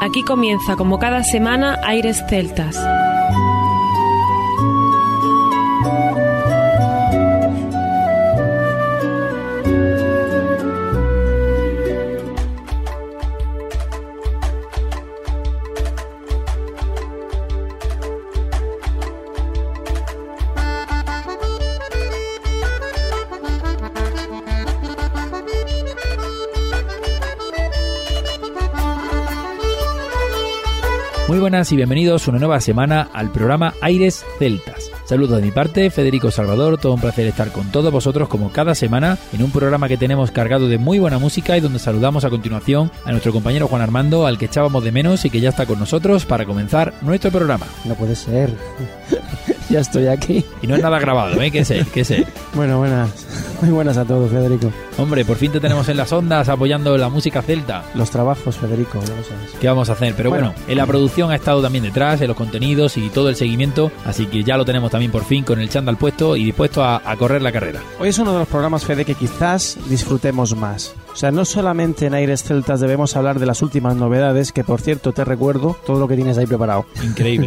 Aquí comienza, como cada semana, Aires Celtas. Muy buenas y bienvenidos una nueva semana al programa Aires Celtas. Saludos de mi parte, Federico Salvador, todo un placer estar con todos vosotros como cada semana en un programa que tenemos cargado de muy buena música y donde saludamos a continuación a nuestro compañero Juan Armando, al que echábamos de menos y que ya está con nosotros para comenzar nuestro programa. No puede ser, ya estoy aquí. Y no es nada grabado, ¿eh? ¿Qué sé? Bueno, buenas, muy buenas a todos, Federico. Hombre, por fin te tenemos en las ondas apoyando la música celta. Los trabajos, Federico, ya lo sabes. ¿Qué vamos a hacer? Pero bueno, en la producción ha estado también detrás, en los contenidos y todo el seguimiento, así que ya lo tenemos también por fin con el chándal puesto y dispuesto a correr la carrera. Hoy es uno de los programas, Fede, que quizás disfrutemos más. O sea, no solamente en Aires Celtas debemos hablar de las últimas novedades, que por cierto te recuerdo todo lo que tienes ahí preparado. Increíble.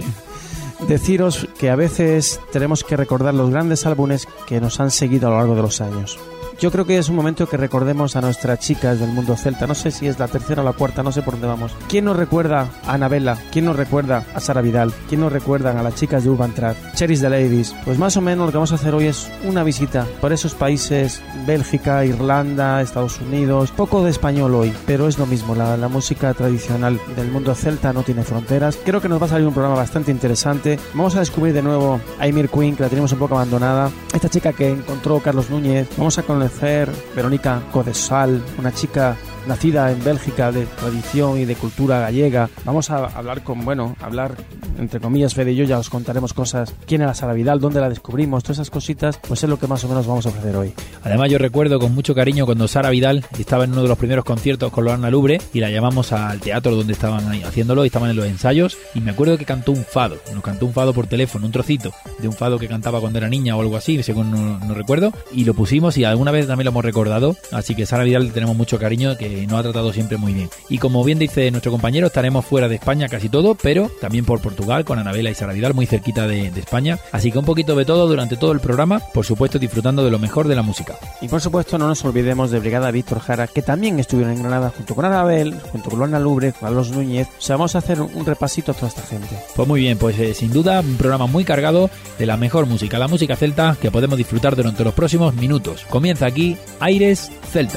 Deciros que a veces tenemos que recordar los grandes álbumes que nos han seguido a lo largo de los años. Yo creo que es un momento que recordemos a nuestras chicas del mundo celta. No sé si es la tercera o la cuarta, no sé por dónde vamos. ¿Quién nos recuerda a Anabela? ¿Quién nos recuerda a Sara Vidal? ¿Quién nos recuerda a las chicas de Urban Trad? Cherries the Ladies. Pues más o menos lo que vamos a hacer hoy es una visita por esos países, Bélgica, Irlanda, Estados Unidos. Poco de español hoy, pero es lo mismo. La música tradicional del mundo celta no tiene fronteras. Creo que nos va a salir un programa bastante interesante. Vamos a descubrir de nuevo a Emir Queen, que la tenemos un poco abandonada. Esta chica que encontró Carlos Núñez. Vamos a conocer Verónica Codesal, una chica nacida en Bélgica, de tradición y de cultura gallega. Vamos a hablar hablar entre comillas, Fede y yo ya os contaremos cosas. ¿Quién era Sara Vidal? ¿Dónde la descubrimos? Todas esas cositas, pues es lo que más o menos vamos a ofrecer hoy. Además yo recuerdo con mucho cariño cuando Sara Vidal estaba en uno de los primeros conciertos con Loana Lubre y la llamamos al teatro donde estaban ahí haciéndolo y estaban en los ensayos y me acuerdo que cantó un fado, nos cantó un fado por teléfono, un trocito de un fado que cantaba cuando era niña o algo así, según no recuerdo, y lo pusimos y alguna vez también lo hemos recordado, así que Sara Vidal le tenemos mucho cariño, que nos ha tratado siempre muy bien. Y como bien dice nuestro compañero, estaremos fuera de España casi todo, pero también por Portugal con Anabela y Sara Vidal, muy cerquita de España, así que un poquito de todo durante todo el programa, por supuesto disfrutando de lo mejor de la música. Y por supuesto no nos olvidemos de Brigada Víctor Jara, que también estuvieron en Granada junto con Anabel, junto con Loana Lubre, con Carlos Núñez. O sea, vamos a hacer un repasito a toda esta gente. Pues muy bien, pues sin duda un programa muy cargado de la mejor música, la música celta, que podemos disfrutar durante los próximos minutos. Comienza aquí Aires Celtas.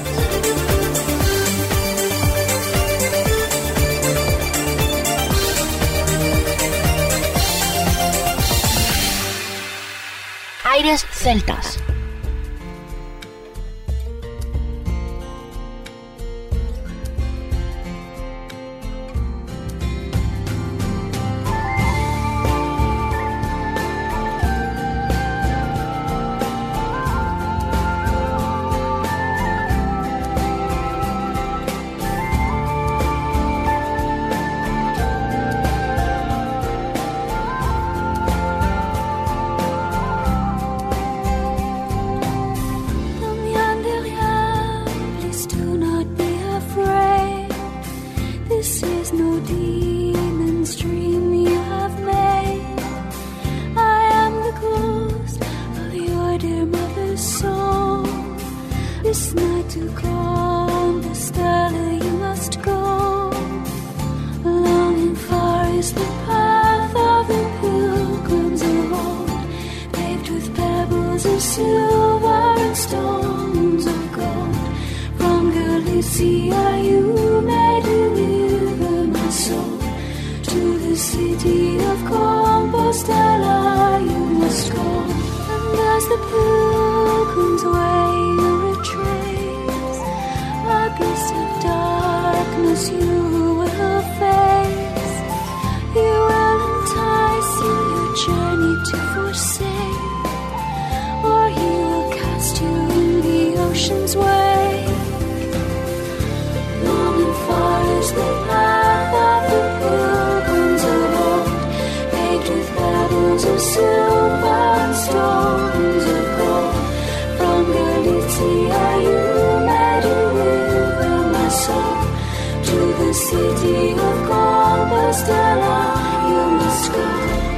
Aires Celtas. City of God. Compostela, you must go.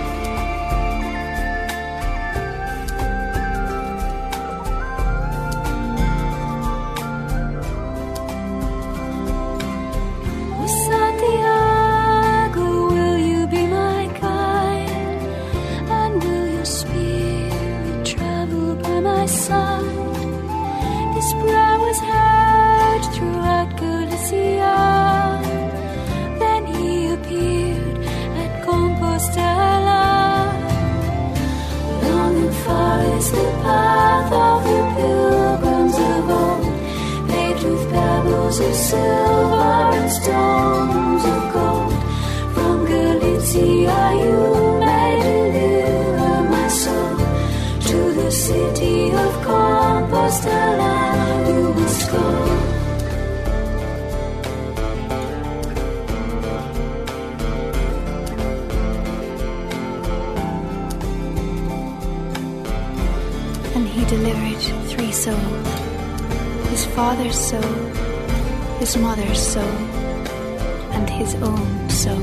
Santiago, will you be my guide? And will your spirit travel by my side? This prayer was heard throughout Galicia. Then he appeared at Compostela. Long and far is the path of the pilgrims of old, paved with pebbles of silver and stones of gold. From Galicia you may deliver my soul to the city of Compostela. You must go. And he delivered 3 souls, his father's soul, his mother's soul, and his own soul.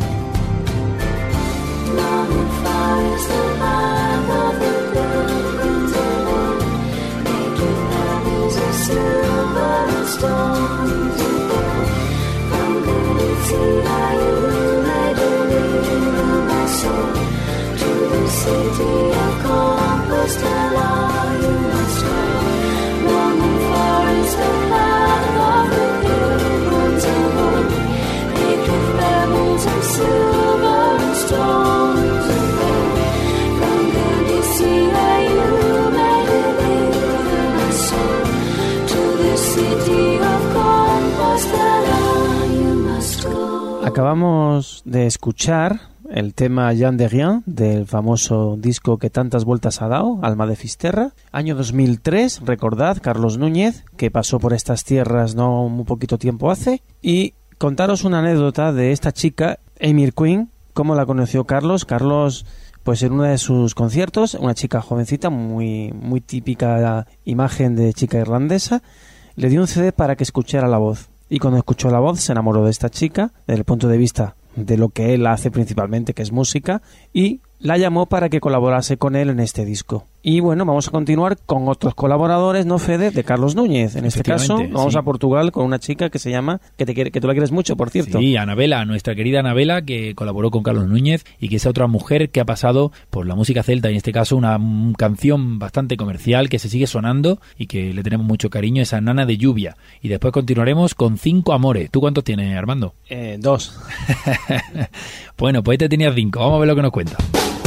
Long and far is the path of the pilgrims alone, made with pebbles of silver and stones of gold. From Galicia you may deliver my soul to the city of Compostela. You must go. Long and far is the path of the pilgrims of old, paved with pebbles of silver and stones of gold. From Galicia you may deliver my soul to the city of Compostela. You must go. Acabamos de escuchar el tema Jean de Rien del famoso disco que tantas vueltas ha dado, Alma de Fisterra, año 2003, recordad, Carlos Núñez, que pasó por estas tierras no muy poquito tiempo hace, y contaros una anécdota de esta chica, Emir Queen, cómo la conoció Carlos. Carlos, pues en uno de sus conciertos, una chica jovencita, muy típica imagen de chica irlandesa, le dio un CD para que escuchara la voz, y cuando escuchó la voz se enamoró de esta chica, desde el punto de vista de lo que él hace principalmente, que es música, y la llamó para que colaborase con él en este disco. Y bueno, vamos a continuar con otros colaboradores, ¿no, Fede? De Carlos Núñez. En este caso, vamos a Portugal con una chica que se llama, que tú la quieres mucho, por cierto. Sí, Anabela, nuestra querida Anabela, que colaboró con Carlos Núñez y que es otra mujer que ha pasado por la música celta, y en este caso una canción bastante comercial que se sigue sonando y que le tenemos mucho cariño, esa Nana de Lluvia. Y después continuaremos con 5 amores. ¿Tú cuántos tienes, Armando? 2. Bueno, pues este tenía 5. Vamos a ver lo que nos cuenta.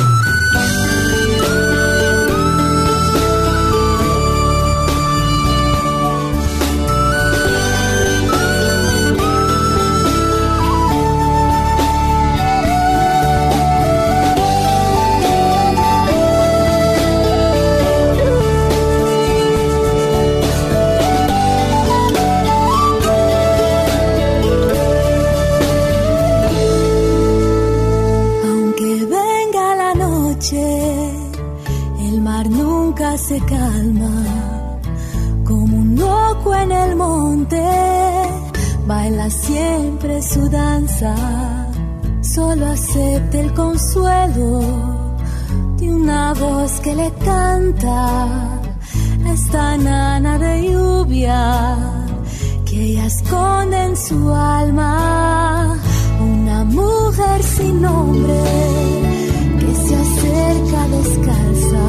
Se calma como un loco en el monte, baila siempre su danza, solo acepta el consuelo de una voz que le canta, esta nana de lluvia que ella esconde en su alma, una mujer sin nombre que se acerca descalza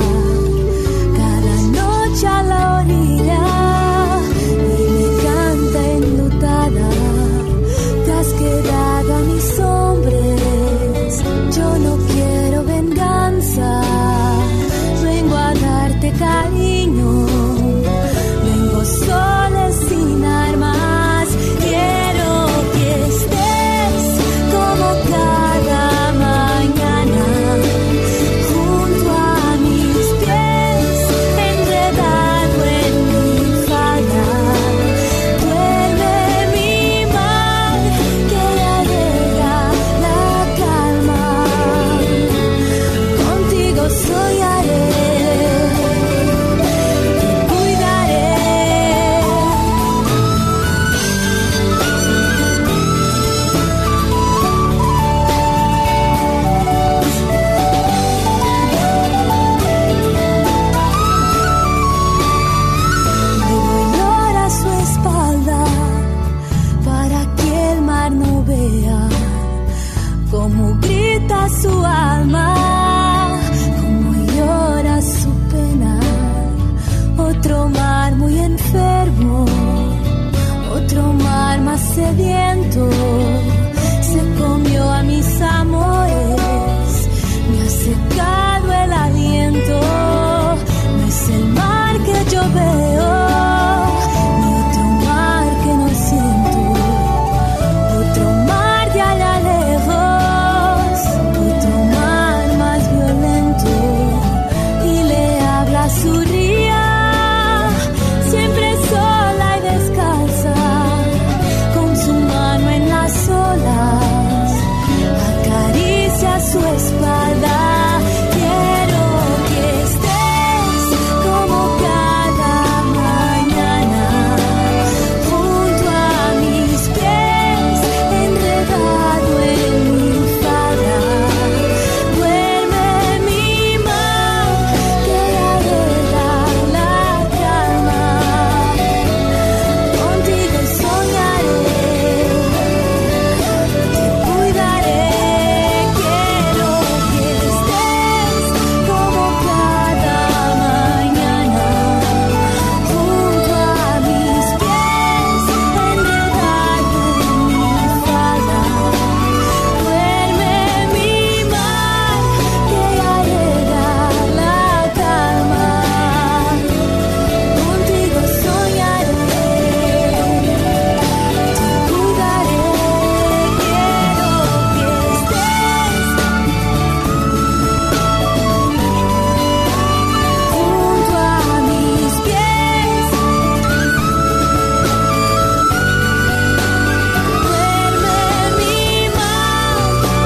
a la orilla y me canta enlutada, te has quedado a mis hombres, yo no quiero venganza, vengo a darte cariño, vengo sola sin armas, quiero que estés como cada mañana junto a otro mar muy enfermo, otro mar más sediento, se comió a mis amores, me ha secado el aliento. No es el mar que yo veo, ni otro mar que no siento, otro mar de allá lejos, otro mar más violento, y le habla a su ría, siempre sola y descalza, con su mano en las olas, acaricia su espalda. Quiero que estés como cada mañana, junto a mis pies, enredado en mi falda. Duerme mi mar, que arregla la calma. Contigo soñaré, te cuidaré. Quiero que estés como cada mañana, junto a mis pies, enredado en mi falda. Duerme mi mar, que arregla la calma. Contigo soñaré, te cuidaré. Quiero que estés junto a mis pies. Duerme mi mar,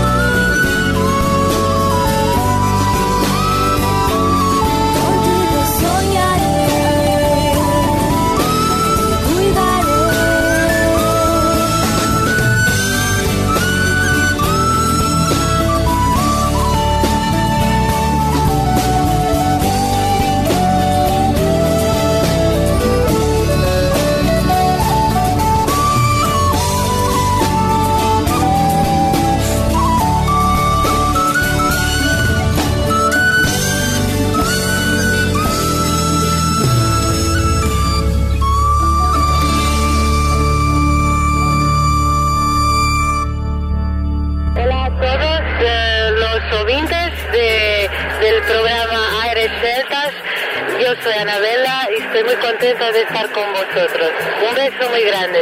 contigo soñaré, te cuidaré. Hola a todos los oyentes del programa Aires Celtas. Yo soy Anabela y estoy muy contenta de estar con vosotros. Un beso muy grande.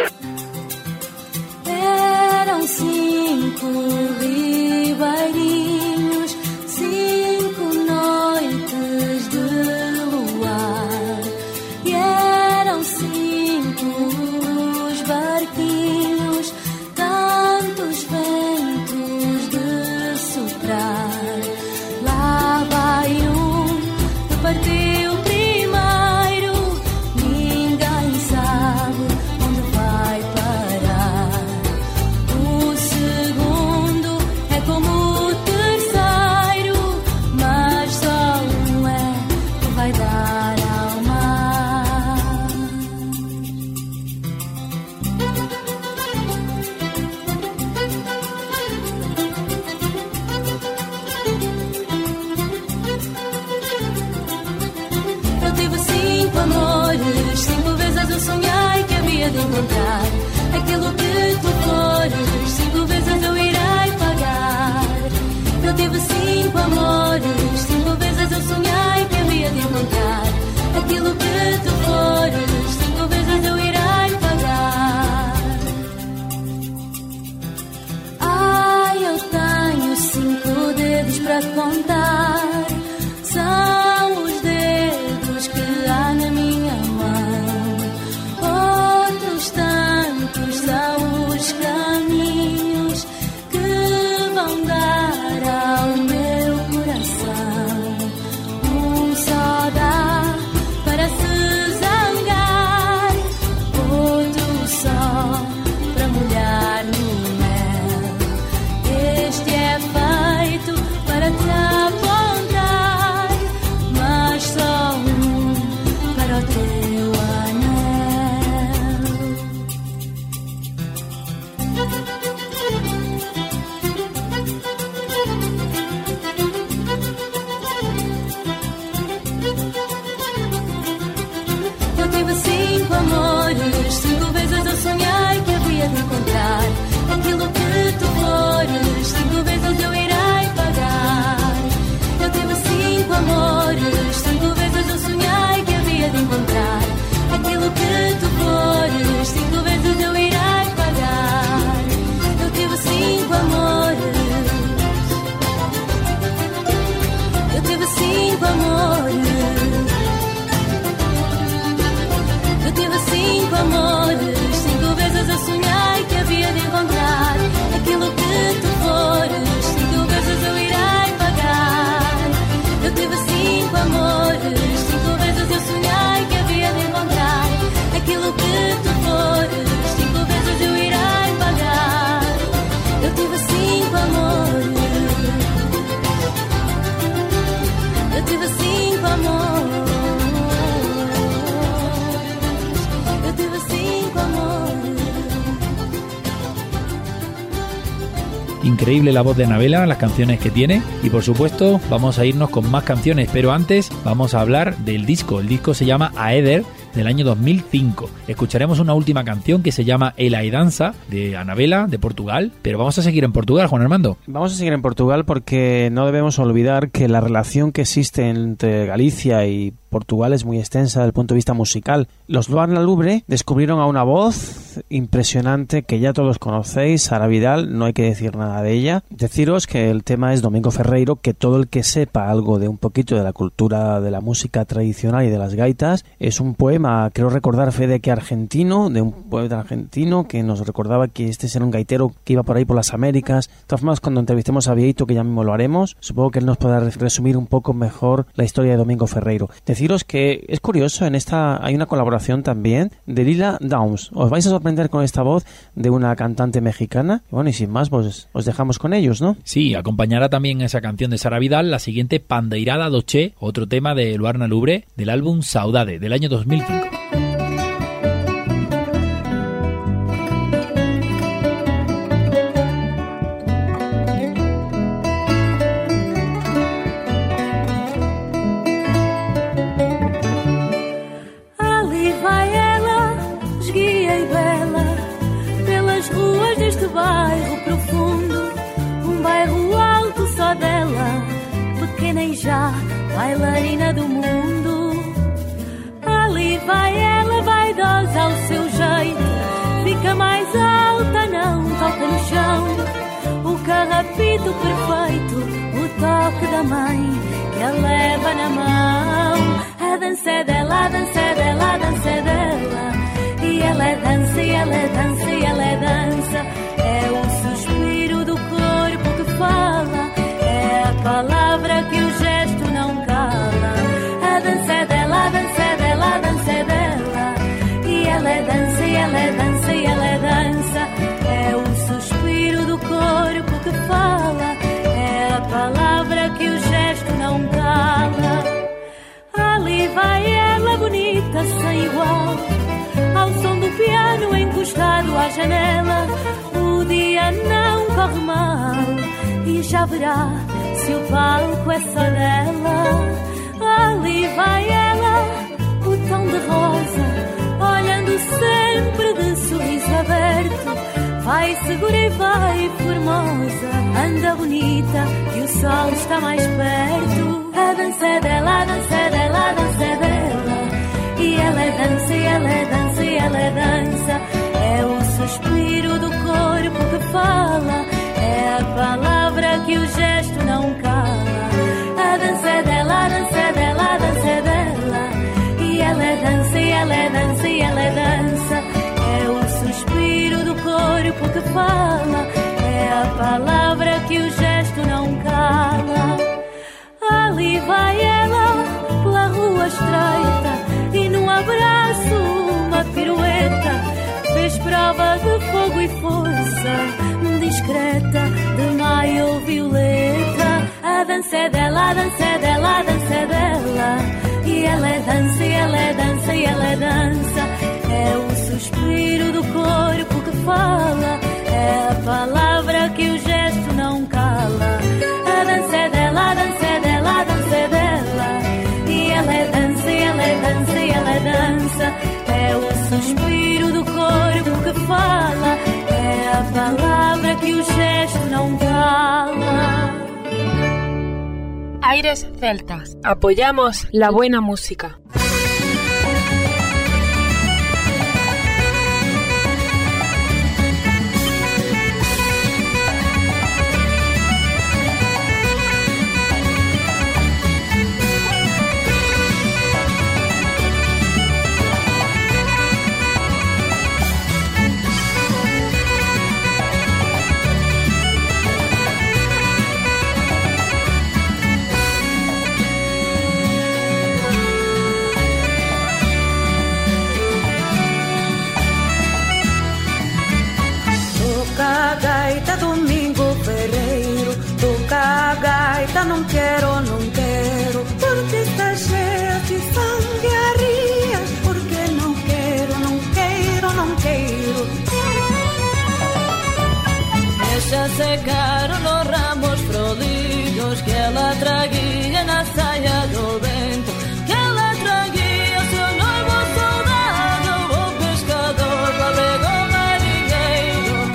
Eram 5 ribeirinhos, 5 noites de luar, e eram 5 os barquinhos, tantos ventos de soprar. Lá vai que partiu primeiro, ninguém sabe onde vai parar. O segundo é como o terceiro, mas só um é que vai dar ao mar. Eu tive 5 amores, 5 vezes eu sonhei que havia de encontrar aquilo que tu fores, 5 vezes eu irei pagar. Eu tive 5 amores, 5 vezes eu sonhei que havia de encontrar aquilo que tu fores, 5 vezes eu irei pagar. Ai, eu tenho 5 dedos para contar, são os dedos que há na minha mão. Outros tantos são os caminhos que vão dar ao meu coração. Um só dá para se zangar, outro só para molhar no mel. Este é feito para te apontar, mas só um para o teu anel. tive 5 amores, 5 vezes eu sonhei que havia de encontrar aquilo que tu fores, 5 vezes eu irei pagar. Eu tive 5 amores, 5 vezes eu sonhei que havia de encontrar aquilo que tu fores, 5 vezes eu irei pagar. Eu tive 5 amores. Eu tive 5 amores. Eu tive 5 amores. 5 vezes eu sonhei que havia de encontrar aquilo que tu fores, 5 vezes eu irei pagar. Eu tive 5 amores. 5 vezes eu sonhei que havia de encontrar aquilo que tu fores, 5 vezes eu irei pagar. Eu tive 5 amores. Eu tive 5 amores. Eu tive 5 amores. Increíble la voz de Anabela, las canciones que tiene, y por supuesto vamos a irnos con más canciones, pero antes vamos a hablar del disco. El disco se llama Aeder, del año 2005. Escucharemos una última canción que se llama El Aidanza, de Anabela, de Portugal, pero vamos a seguir en Portugal, Juan Armando. Vamos a seguir en Portugal porque no debemos olvidar que la relación que existe entre Galicia y Portugal es muy extensa desde el punto de vista musical. Los Luarna Lubre descubrieron a una voz impresionante que ya todos conocéis, Sara Vidal, no hay que decir nada de ella. Deciros que el tema es Domingo Ferreiro, que todo el que sepa algo de un poquito de la cultura de la música tradicional y de las gaitas, es un poema, creo recordar, Fede, que argentino, de un poeta argentino que nos recordaba que este era un gaitero que iba por ahí por las Américas. De todas formas, cuando entrevistemos a Vieito, que ya mismo lo haremos, supongo que él nos podrá resumir un poco mejor la historia de Domingo Ferreiro. Deciros que es curioso, en esta hay una colaboración también de Lila Downs. Os vais a sorprender con esta voz de una cantante mexicana. Bueno, y sin más, pues os dejamos con ellos, ¿no? Sí, acompañará también esa canción de Sara Vidal la siguiente Pandeirada do Che, otro tema de Luarna Lubre, del álbum Saudade, del año 2005. Bairro profundo, bairro alto só dela, pequena e já bailarina do mundo. Ali vai ela, vaidosa ao seu jeito, fica mais alta, não toca no chão. O carrapito perfeito, o toque da mãe que a leva na mão. A dança é dela, a dança é dela, a dança é dela. E ela é dança, e ela é dança, e ela é dança. É o suspiro do corpo que fala, é a palavra que o gesto não cala. A dança é dela, a dança é dela, a dança é dela. E ela é dança, e ela é dança, e ela é dança. É o suspiro do corpo que fala, é a palavra que o gesto não cala. Ali vai ela bonita, sem igual, ao som do piano encostado à janela. O dia não corre mal e já verá se o palco é só dela. Ali vai ela, o tom de rosa, olhando sempre de sorriso aberto. Vai segura e vai formosa, anda bonita e o sol está mais perto. A dança é dela, a dança é dela, a dança é dela. E ela é dança, e ela é dança, e ela é dança. É o suspiro do corpo que fala, é a palavra que o gesto não cala. A dança é dela, a dança é dela, a dança é dela. E ela é dança, e ela é dança, e ela é dança. É o suspiro do corpo que fala, é a palavra que o gesto não cala. Ali vai ela pela rua estreita e num abraço uma pirueta. Fez prova de fogo e força, discreta, de maio ou violeta. A dança é dela, a dança é dela, a dança é dela. E ela é dança, e ela é dança, e ela é dança. É o suspiro do corpo que fala, é a palavra que o gesto não cala. A dança é dela, a dança é dela, a dança é dela. E ela é dança, e ela é dança, e ela é dança. Aires Celtas. Apoyamos la buena música. Não quero, não quero, porque está cheia de sanguearias. Porque não quero, não quero, não quero. Deixa secar los ramos floridos que ela traguia na saia do vento, que ela traguia seu noivo soldado, o pescador navegou marinheiro.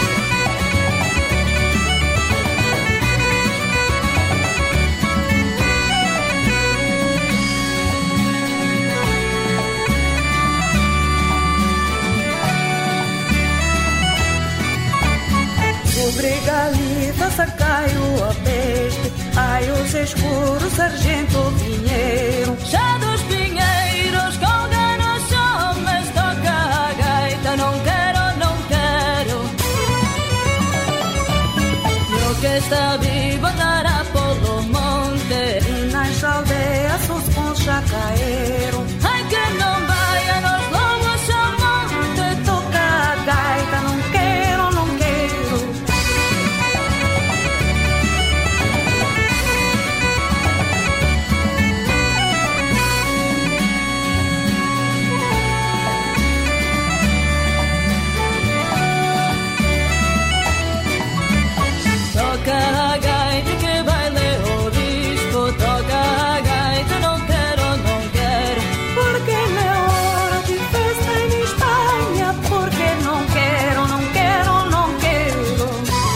Brigalita, sacai-o a peste. Ai, os escuros, sargento Pinheiro. Já dos pinheiros, colga nos homens, toca a gaita. Não quero, não quero. Eu que está vivo andará pelo monte, E nas aldeias os bons já caíram. ai que não vai a nos lobos chamante. Toca a gaita, não quero, não quero. Toca a gaita que baile o disco, toca a gaita, não quero, não quero. Porque é hora de festa em Espanha. Porque não quero, não quero, não quero.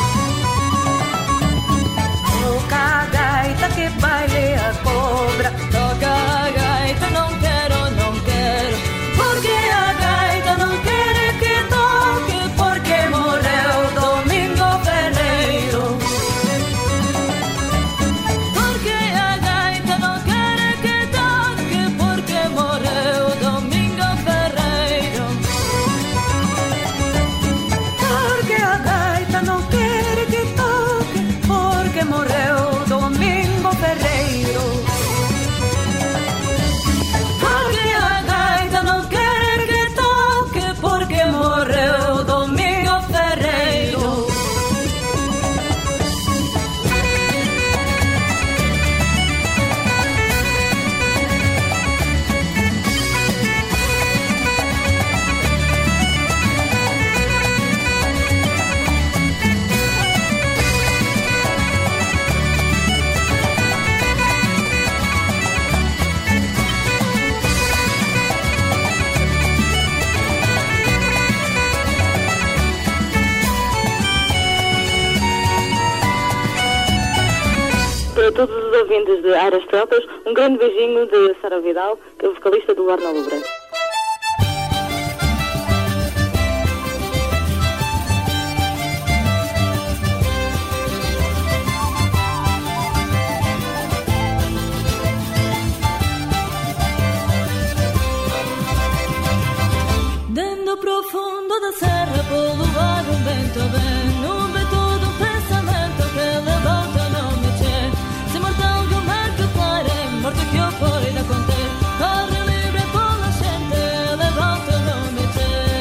Toca a gaita que baile a cobra. Toca a gaita, não quero, não quero. Porque a gaita não quer que toque. Porque morreu Domingo Ferreiro. Porque a gaita não quer que toque, porque morreu Domingo Ferreiro. Porque a gaita não quer que toque. Porque morreu Domingo Ferreiro. Porque a gaita não quer que toque. Porque morreu Domingo Ferreiro. Para todos os ouvintes de Aires Celtas, um grande beijinho de Sara Vidal, que é vocalista do Luar na Lubre. Dentro profundo da serra, pelo ar um vento vem, um vento de um pensamento que levanta não me che. Se mortal de um mar que clare, morte que eu fui da conter, corre livre pela gente, levanta não me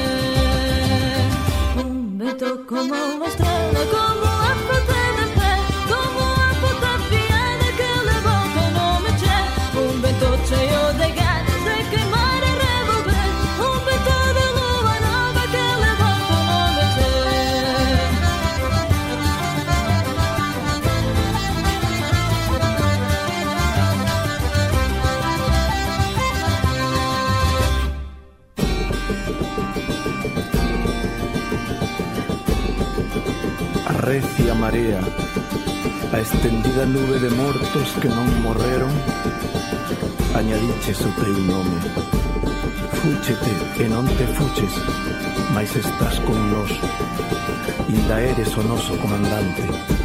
che. Um vento como uma estrela, como a fruta de pé, como a fruta piada que levanta não me che. Um vento cheio de ganas de queimar e revolver, um vento de lua nova que levanta não me che. Arrecia marea, A extendida nube de mortos que non morreron, añadiches o teu nome. Fúchete e non te fuches, mais estás con nós. Inda eres o noso comandante.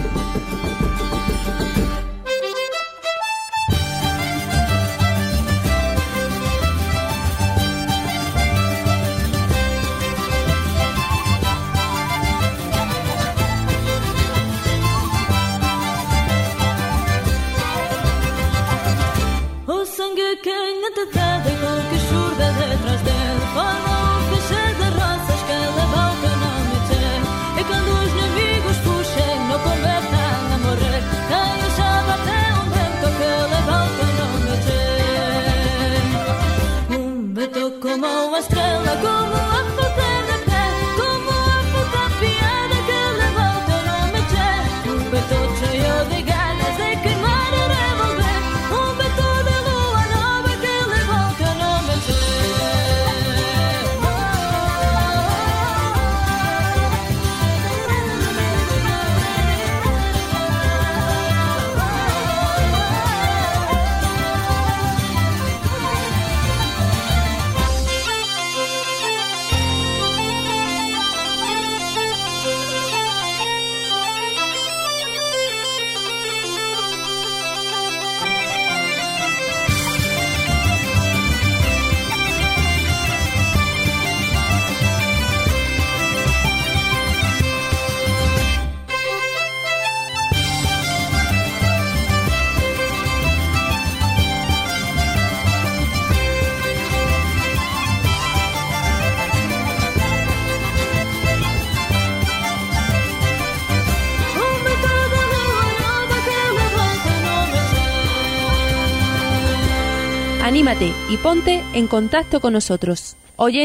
Anímate y ponte en contacto con nosotros.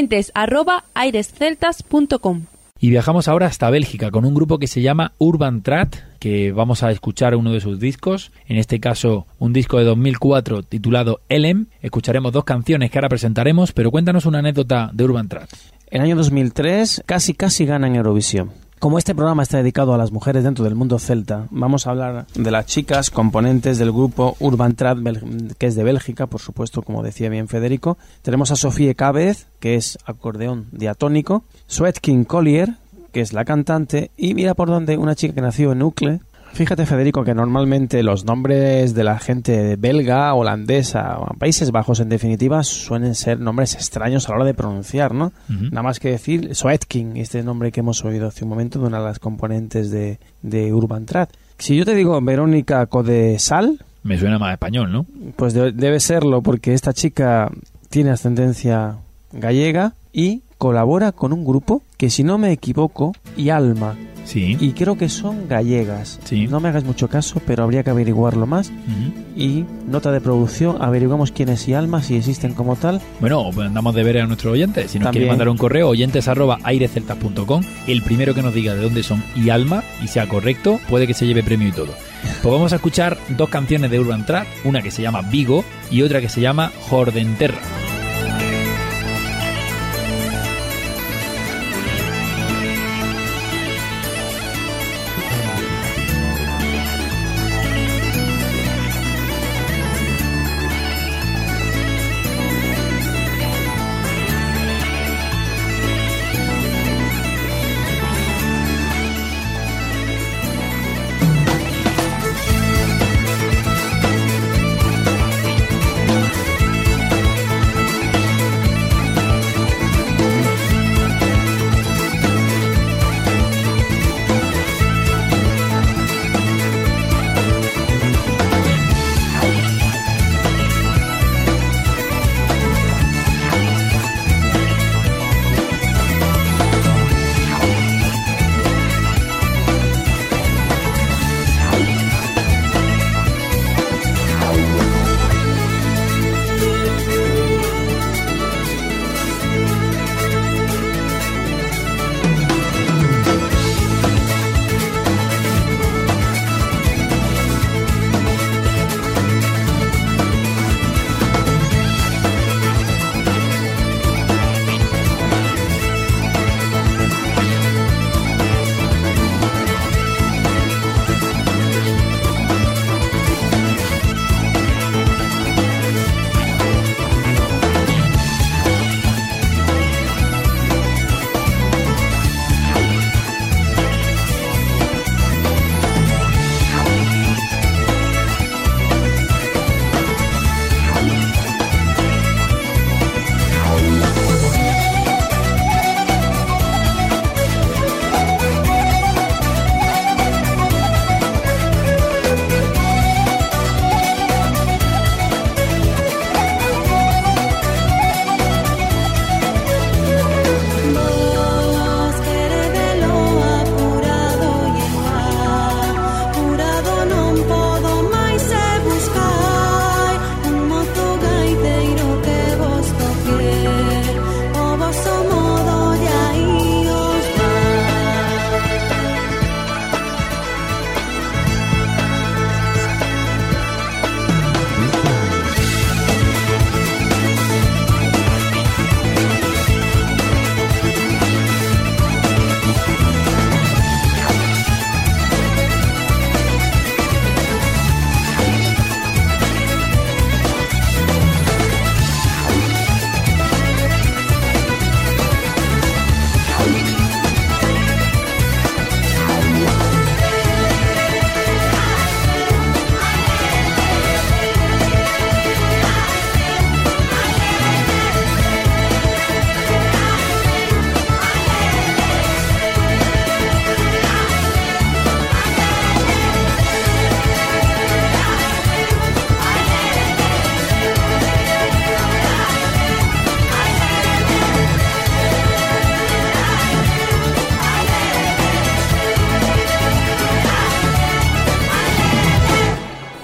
oyentes@airesceltas.com. Y viajamos ahora hasta Bélgica con un grupo que se llama Urban Trad, que vamos a escuchar uno de sus discos, en este caso un disco de 2004 titulado Elem. Escucharemos 2 canciones que ahora presentaremos, pero cuéntanos una anécdota de Urban Trad. En el año 2003 casi ganan Eurovisión. Como este programa está dedicado a las mujeres dentro del mundo celta, vamos a hablar de las chicas componentes del grupo Urban Trad, que es de Bélgica, por supuesto, como decía bien Federico. Tenemos a Sofie Cabez, que es acordeón diatónico, Sweetkin Collier, que es la cantante, y mira por dónde, una chica que nació en Uccle. Fíjate, Federico, que normalmente los nombres de la gente belga, holandesa, o Países Bajos, en definitiva, suelen ser nombres extraños a la hora de pronunciar, ¿no? Nada más que decir Sweetkin, este nombre que hemos oído hace un momento de una de las componentes de Urban Trad. Si yo te digo Verónica Codesal... Me suena más español, ¿no? Pues debe serlo, porque esta chica tiene ascendencia gallega y colabora con un grupo que, si no me equivoco, Alma. Sí. Y creo que son gallegas. Sí. No me hagas mucho caso, pero habría que averiguarlo más. Y nota de producción, averiguamos quién es Alma, si existen como tal. Bueno, pues andamos de ver a nuestros oyentes. Si nos quieren mandar un correo, oyentes@airesceltas.com. El primero que nos diga de dónde son Alma y sea correcto, puede que se lleve premio y todo. Pues vamos a escuchar 2 canciones de Urban Trad, una que se llama Vigo y otra que se llama Jordenterra.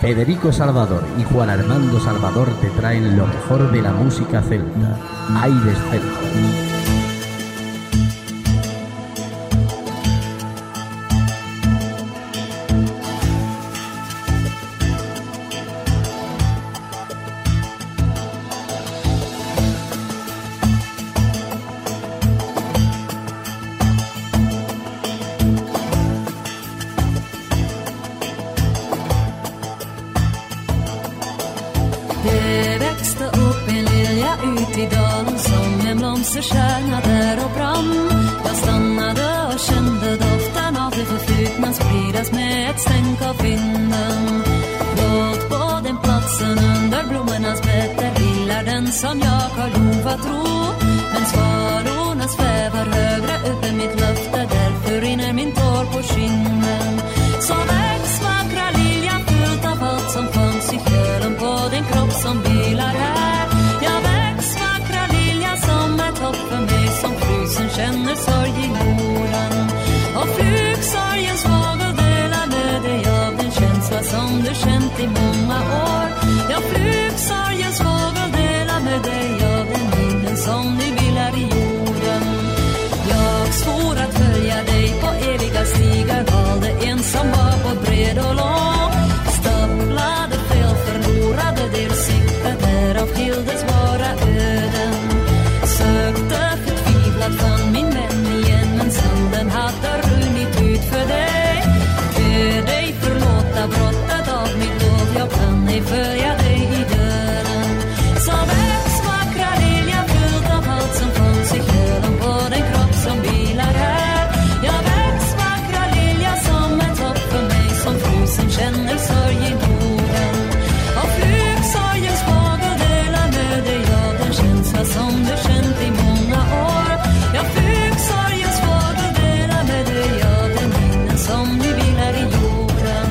Federico Salvador y Juan Armando Salvador te traen lo mejor de la música celta. Aires Celtas. Det växte upp en lilja ut i dalen som en blomsterstjärna där och brann. Jag stannade och kände doften av det förflutna spridas med ett stänk av vinden. Låt på den platsen under blommornas bättre vilar den som jag har lovat tro. Men svalorna svävar högre upp i mitt löfte, därför rinner min tår på kinden. Så väx vackra lilja fullt av allt som fanns i själen på den kropp som vilar här. Jag väx vackra lilja som ett hopp för mig som frusen känner sorg i jorden. Och flugsorgens fågel delar med dig av den känsla som du känt i många år. Ja, flugsorgens fågel delar med dig av den vinden som nu vilar i jorden. Jag svor att följa dig på eviga stigar, valde en som var på bred och lång. Stapplade fel, förlorade del sikte, därav skildes våra öden. Sökte förtvivlat, fann min vän igen, men sanden hade runnit ut för dig. Be dig förlåta brottet av mitt lov, jag kan ej följa dig i döden. Så väx vackra lilja fylld av allt som fanns i själen på den kropp som vilar här. Jag väx vackra lilja som ett hopp för mig som frusen känner sorg i Norden. Och flugsorgens fågel delar med dig av den känsla som du känt i många år. Ja, flugsorgens fågel delar med dig av den vinden som nu vilar i jorden.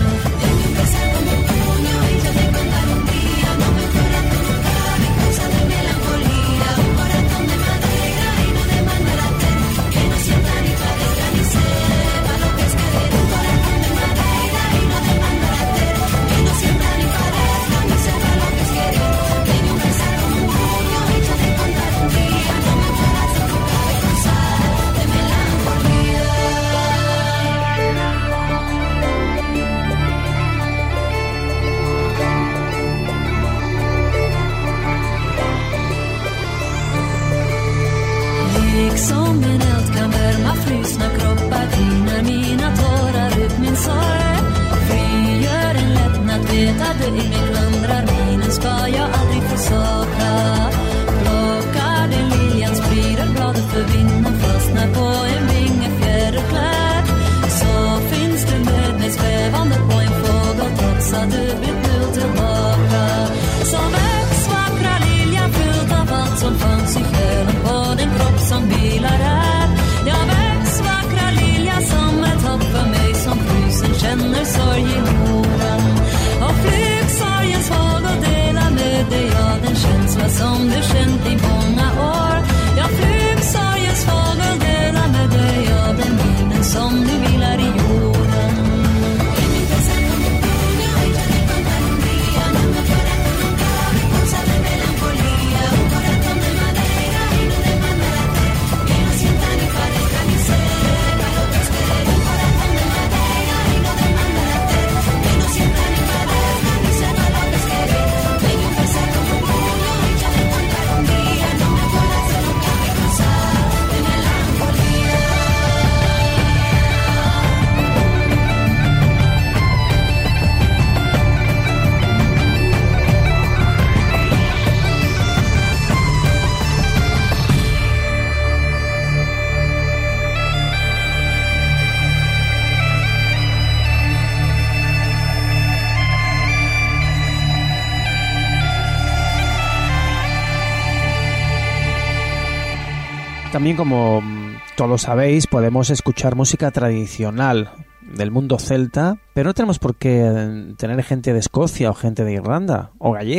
Som en eld kan värma frysna kroppar, tinar mina tårar ut min sorg. Frigör en lättnad, vet att du i mig klandrar, minen ska jag aldrig försaka. Plockar den liljan, sprider bladet för vinden, fastnar på en vinge fjäderklädd. Så finns du med mig svävande på en fågel, trots att du blivit nu tillbaka. Så väx vackra lilja fylld av allt som fanns i själen på den kropp som vilar här. Jag väx vackra lilja som ett hopp för mig som frusen känner sorg i jorden. Och flugsorgens fågel delar med dig av den känsla som du känt i många år. Ja, flugsorgens fågel delar med dig av den vinden som nu vilar i jorden. También, como todos sabéis, podemos escuchar música tradicional del mundo celta, pero no tenemos por qué tener gente de Escocia o gente de Irlanda o gallega.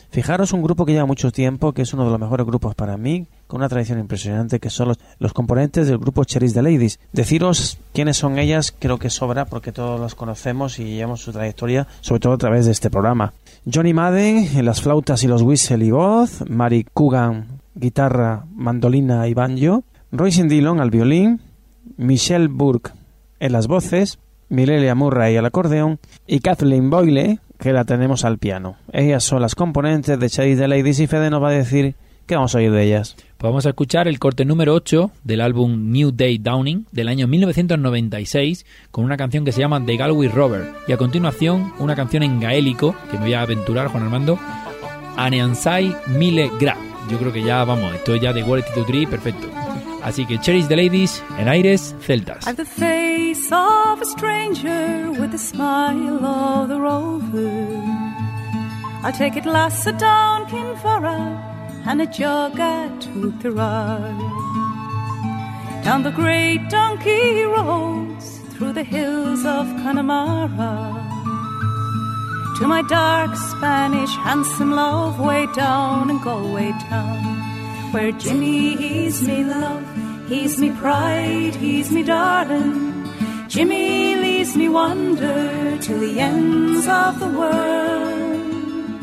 Fijaros un grupo que lleva mucho tiempo, que es uno de los mejores grupos para mí, con una tradición impresionante, que son los componentes del grupo Cherish the Ladies. Deciros quiénes son ellas creo que sobra, porque todos las conocemos y llevamos su trayectoria, sobre todo a través de este programa. Johnny Madden en las flautas y los whistle y voz, Mary Coogan, guitarra, mandolina y banjo, Roisin Dillon al violín, Michelle Burke en las voces, Mirelia Murray al acordeón y Kathleen Boyle, que la tenemos al piano. Ellas son las componentes de Cherish the Ladies y Fede nos va a decir qué vamos a oír de ellas. Pues vamos a escuchar el corte número 8 del álbum New Day Dawning del año 1996 con una canción que se llama The Galway Rover y a continuación una canción en gaélico que me voy a aventurar, Juan Armando, Aneansai Mille Gra. Yo creo que ya vamos, esto ya de Quality to Tree, perfecto. Así que Cherish the Ladies en Aires Celtas. I've the face of a stranger with the smile of the rover. I take it glass down Kinvara and a jug at Tuthera. Down the great donkey roads through the hills of Connemara to my dark Spanish handsome love way down in Galway town. Where Jimmy, he's me love, he's me pride, he's me darling. Jimmy leaves me wonder till the ends of the world.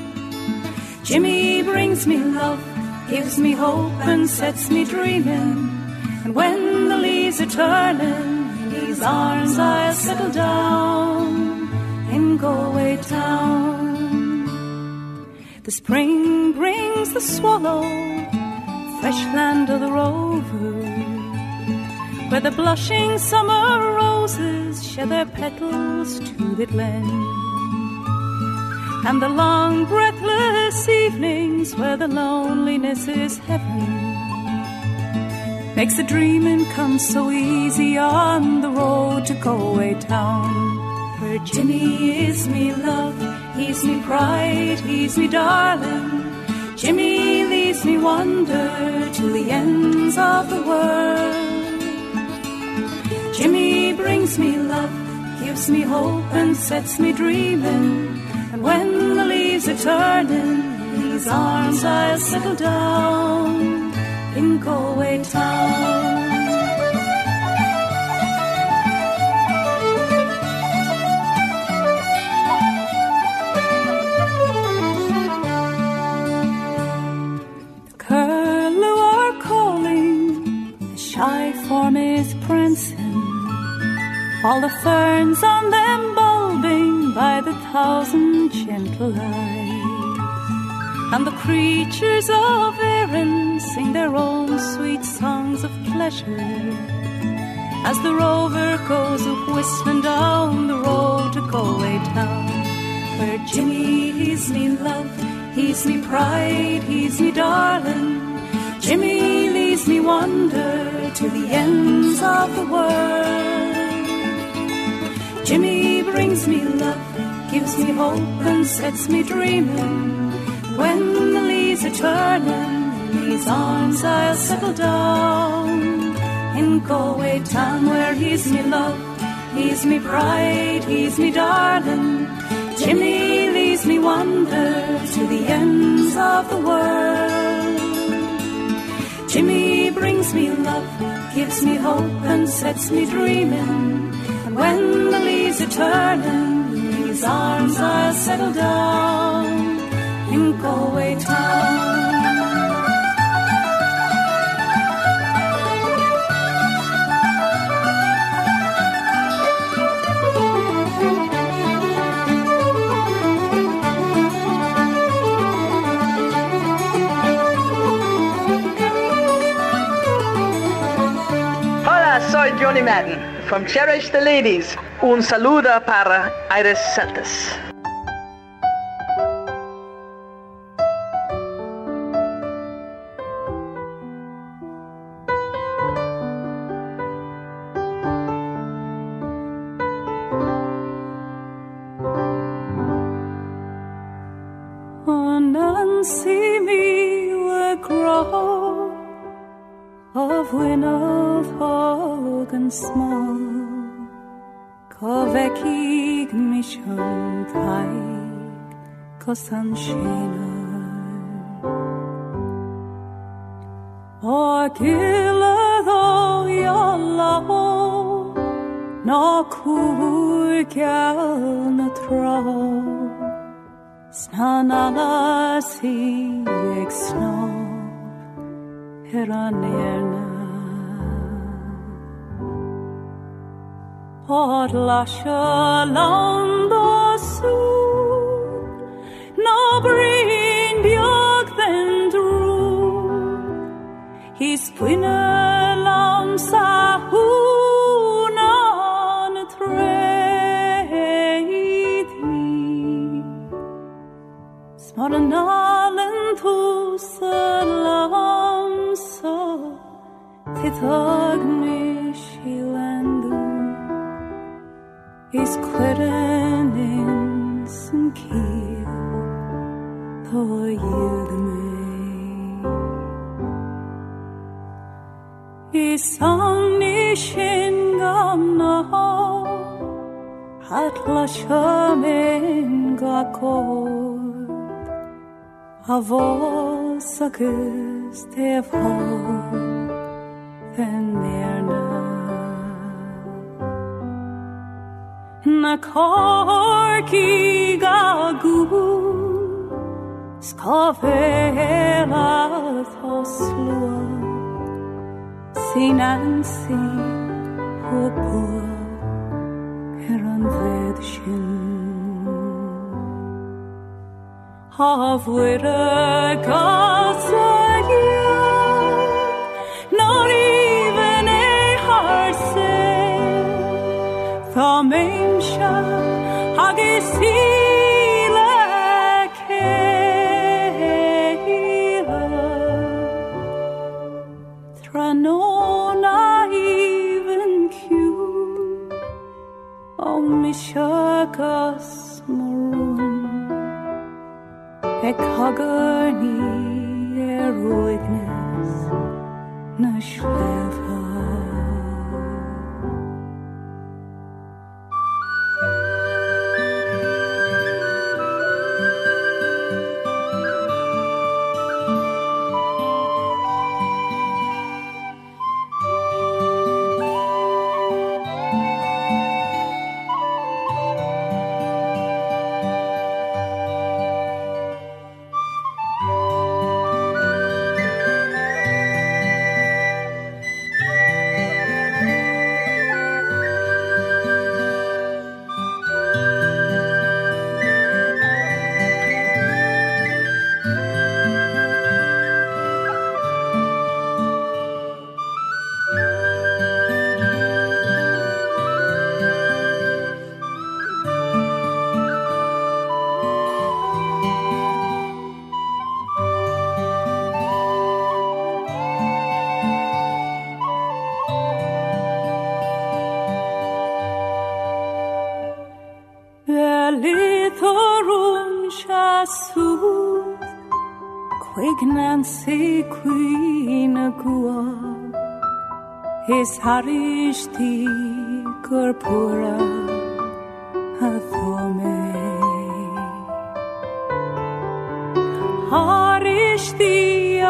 Jimmy brings me love, gives me hope and sets me dreaming. And when the leaves are turning, in his arms I'll settle down in Galway town. The spring brings the swallow, fresh land of the rover, where the blushing summer roses shed their petals to the glen, and the long breathless evenings where the loneliness is heaven makes the dreaming come so easy on the road to Galway town. Where Jimmy is me love, he's me pride, he's me darling. Jimmy leaves me wonder to the ends of the world. Jimmy brings me love, gives me hope and sets me dreaming. And when the leaves are turning, in his arms I'll settle down in Galway town. Shy form is prancing, all the ferns on them bulbing by the thousand gentle lights, and the creatures of Erin sing their own sweet songs of pleasure as the rover goes whistling down the road to Galway town. Where Jimmy, he's me love, he's me pride, he's me darling. Jimmy leaves me wonder to the ends of the world. Jimmy brings me love, gives me hope and sets me dreaming. When the leaves are turning, in his arms I'll settle down in Galway town. Where he's me love, he's me pride, he's me darling. Jimmy leaves me wonder to the ends of the world. Jimmy brings me love, gives me hope and sets me dreaming. And when the leaves are turning, in his arms I'll settle down in Galway town. Soy Johnny Madden from Cherish the Ladies. Un saludo para Aires Celtas. See me were grow of win of hog and small, Covekig mission thaig, Cosanchina. gilado yallo na kurgal na tro snanala si exno heranerna Podlasha lando su no brin björk den dro His pinne lamsa hunan treidi Smarnalen tusa lamsa Titagnishilandu Is kverenins en kiel på judme Is samnishingamna Hatla shamen gakord Avosakus tevhol Venmerna Na korki gagu skavela thoslua sinansi hopo heran vedshin havwera gasaya not even a heart Thamensha hagisila keila Tranona even Q O mishakas maroon Ekhagarni eroicness Nashveva Nancy Queen Agua His Harishti Gurpura Hathome Harishti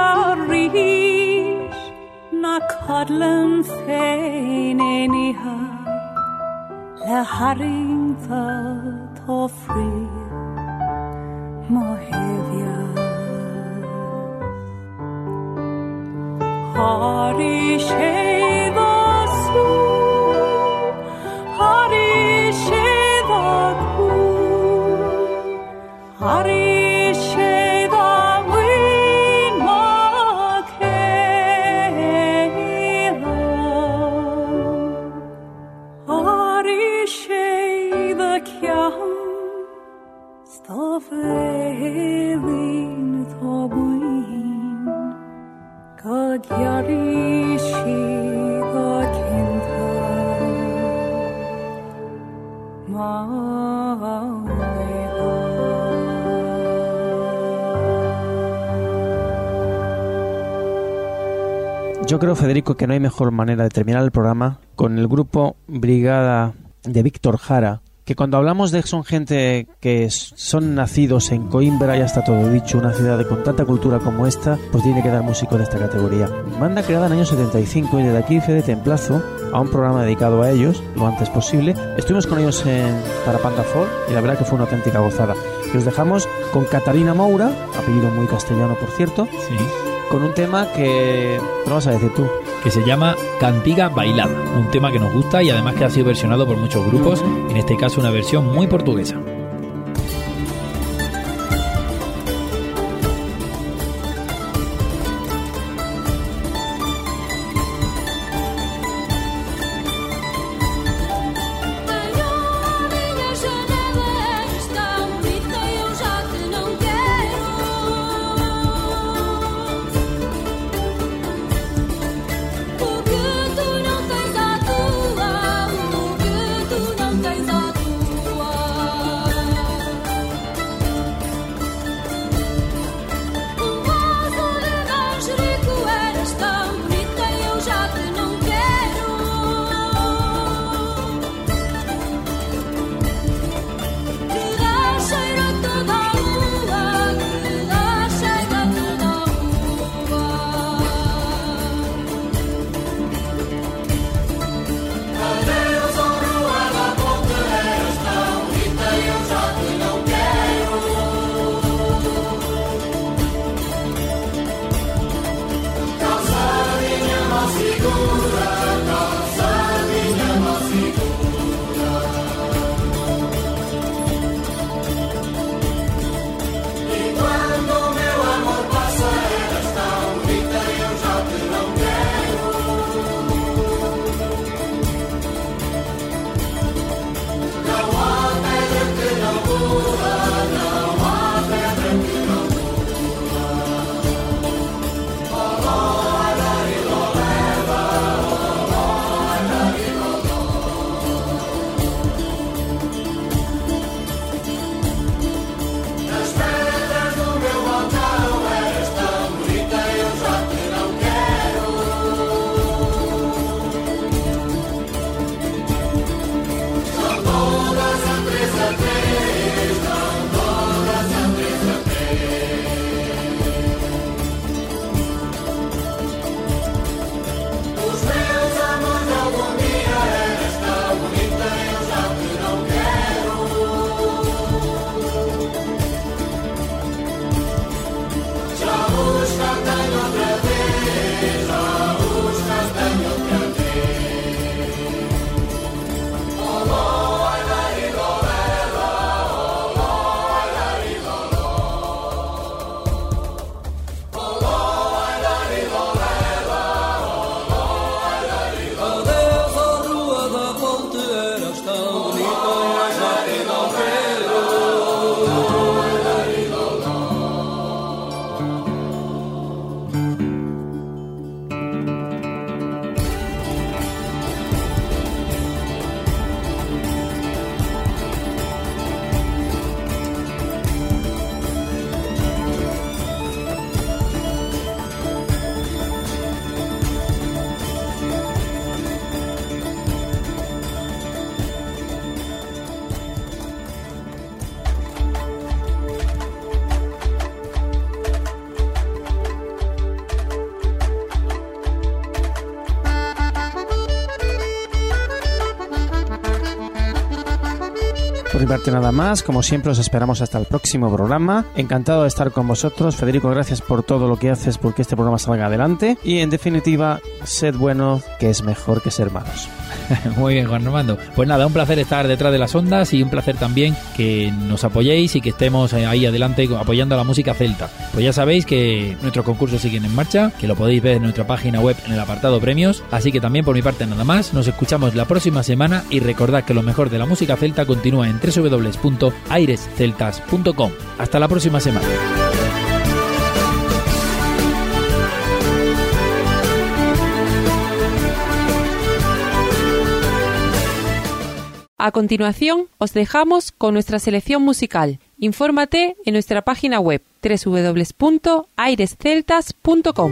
Arish Na Kadlan Fein Eniha La Haring the Tofri Mohevia Hari Sheva Su Hari Sheva Ku Hari Sheva Win Makela Hari Sheva Kyam Stavelin Thobuin Kagyarishi Gakinta Yo creo, Federico, que no hay mejor manera de terminar el programa con el grupo Brigada de Víctor Jara, que cuando hablamos de que son gente que son nacidos en Coimbra, ya está todo dicho, una ciudad con tanta cultura como esta, pues tiene que dar músicos de esta categoría. Banda creada en el año 75 y desde aquí Fede te emplazo a un programa dedicado a ellos lo antes posible. Estuvimos con ellos para Panda Folk y la verdad que fue una auténtica gozada. Y os dejamos con Catarina Moura, apellido muy castellano por cierto, Sí. con un tema que... ¿Qué vas a decir tú? Que se llama Cantiga Bailada, un tema que nos gusta y además que ha sido versionado por muchos grupos, en este caso una versión muy portuguesa. Por mi parte nada más, como siempre os esperamos hasta el próximo programa. Encantado de estar con vosotros. Federico, gracias por todo lo que haces porque este programa salga adelante. Y en definitiva, sed buenos, que es mejor que ser malos. Muy bien, Juan Armando. Pues nada, un placer estar detrás de las ondas y un placer también que nos apoyéis y que estemos ahí adelante apoyando a la música celta. Pues ya sabéis que nuestros concursos siguen en marcha, que lo podéis ver en nuestra página web en el apartado premios. Así que también por mi parte nada más, nos escuchamos la próxima semana y recordad que lo mejor de la música celta continúa en www.airesceltas.com. Hasta la próxima semana. A continuación, os dejamos con nuestra selección musical. Infórmate en nuestra página web www.airesceltas.com.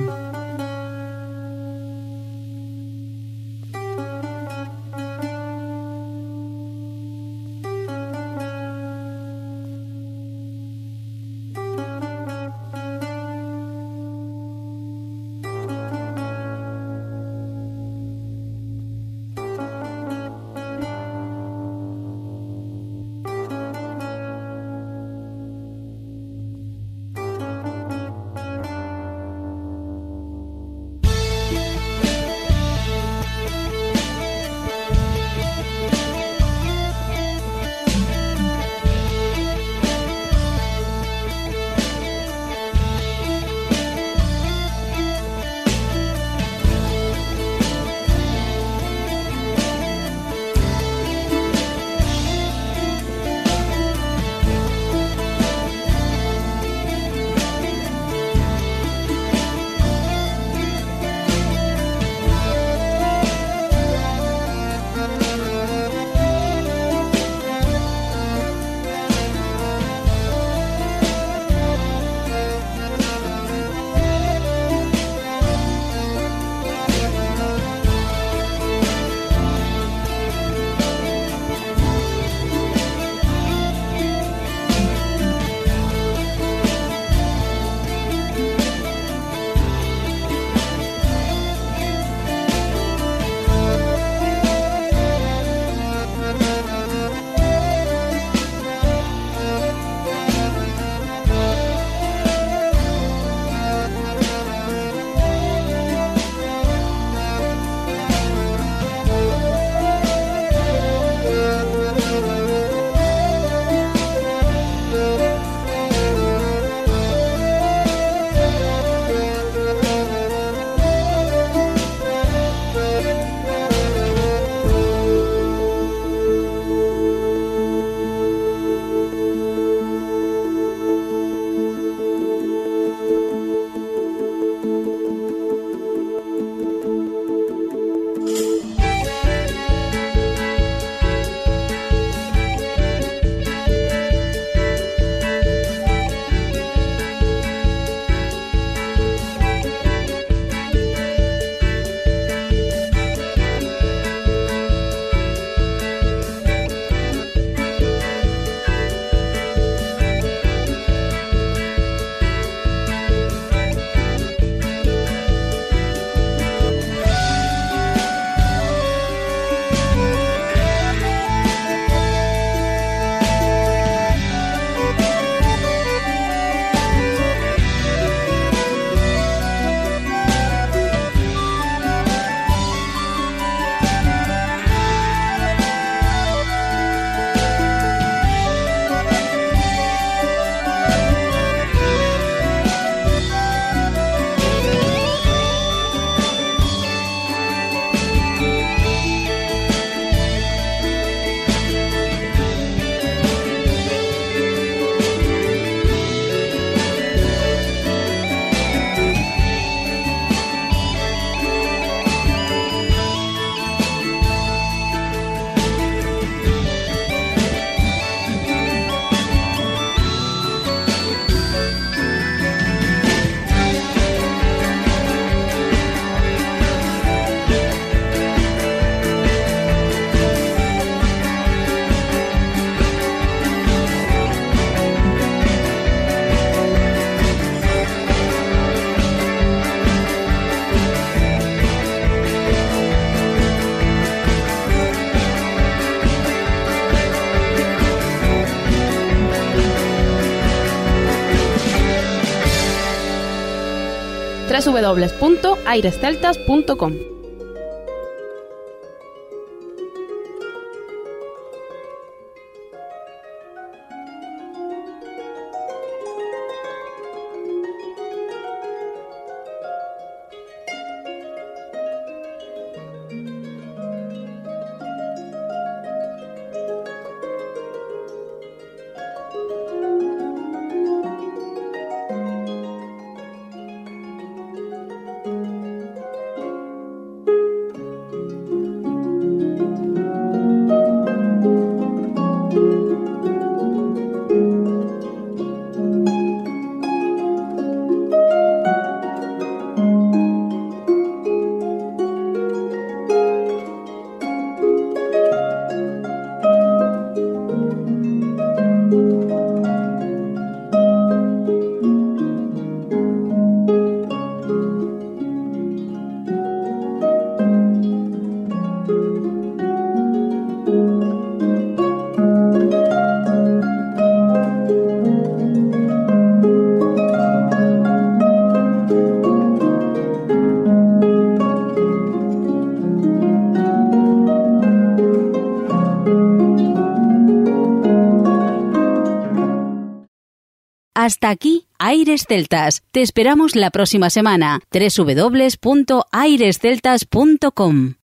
www.airesceltas.com. Hasta aquí Aires Celtas. Te esperamos la próxima semana. www.airesceltas.com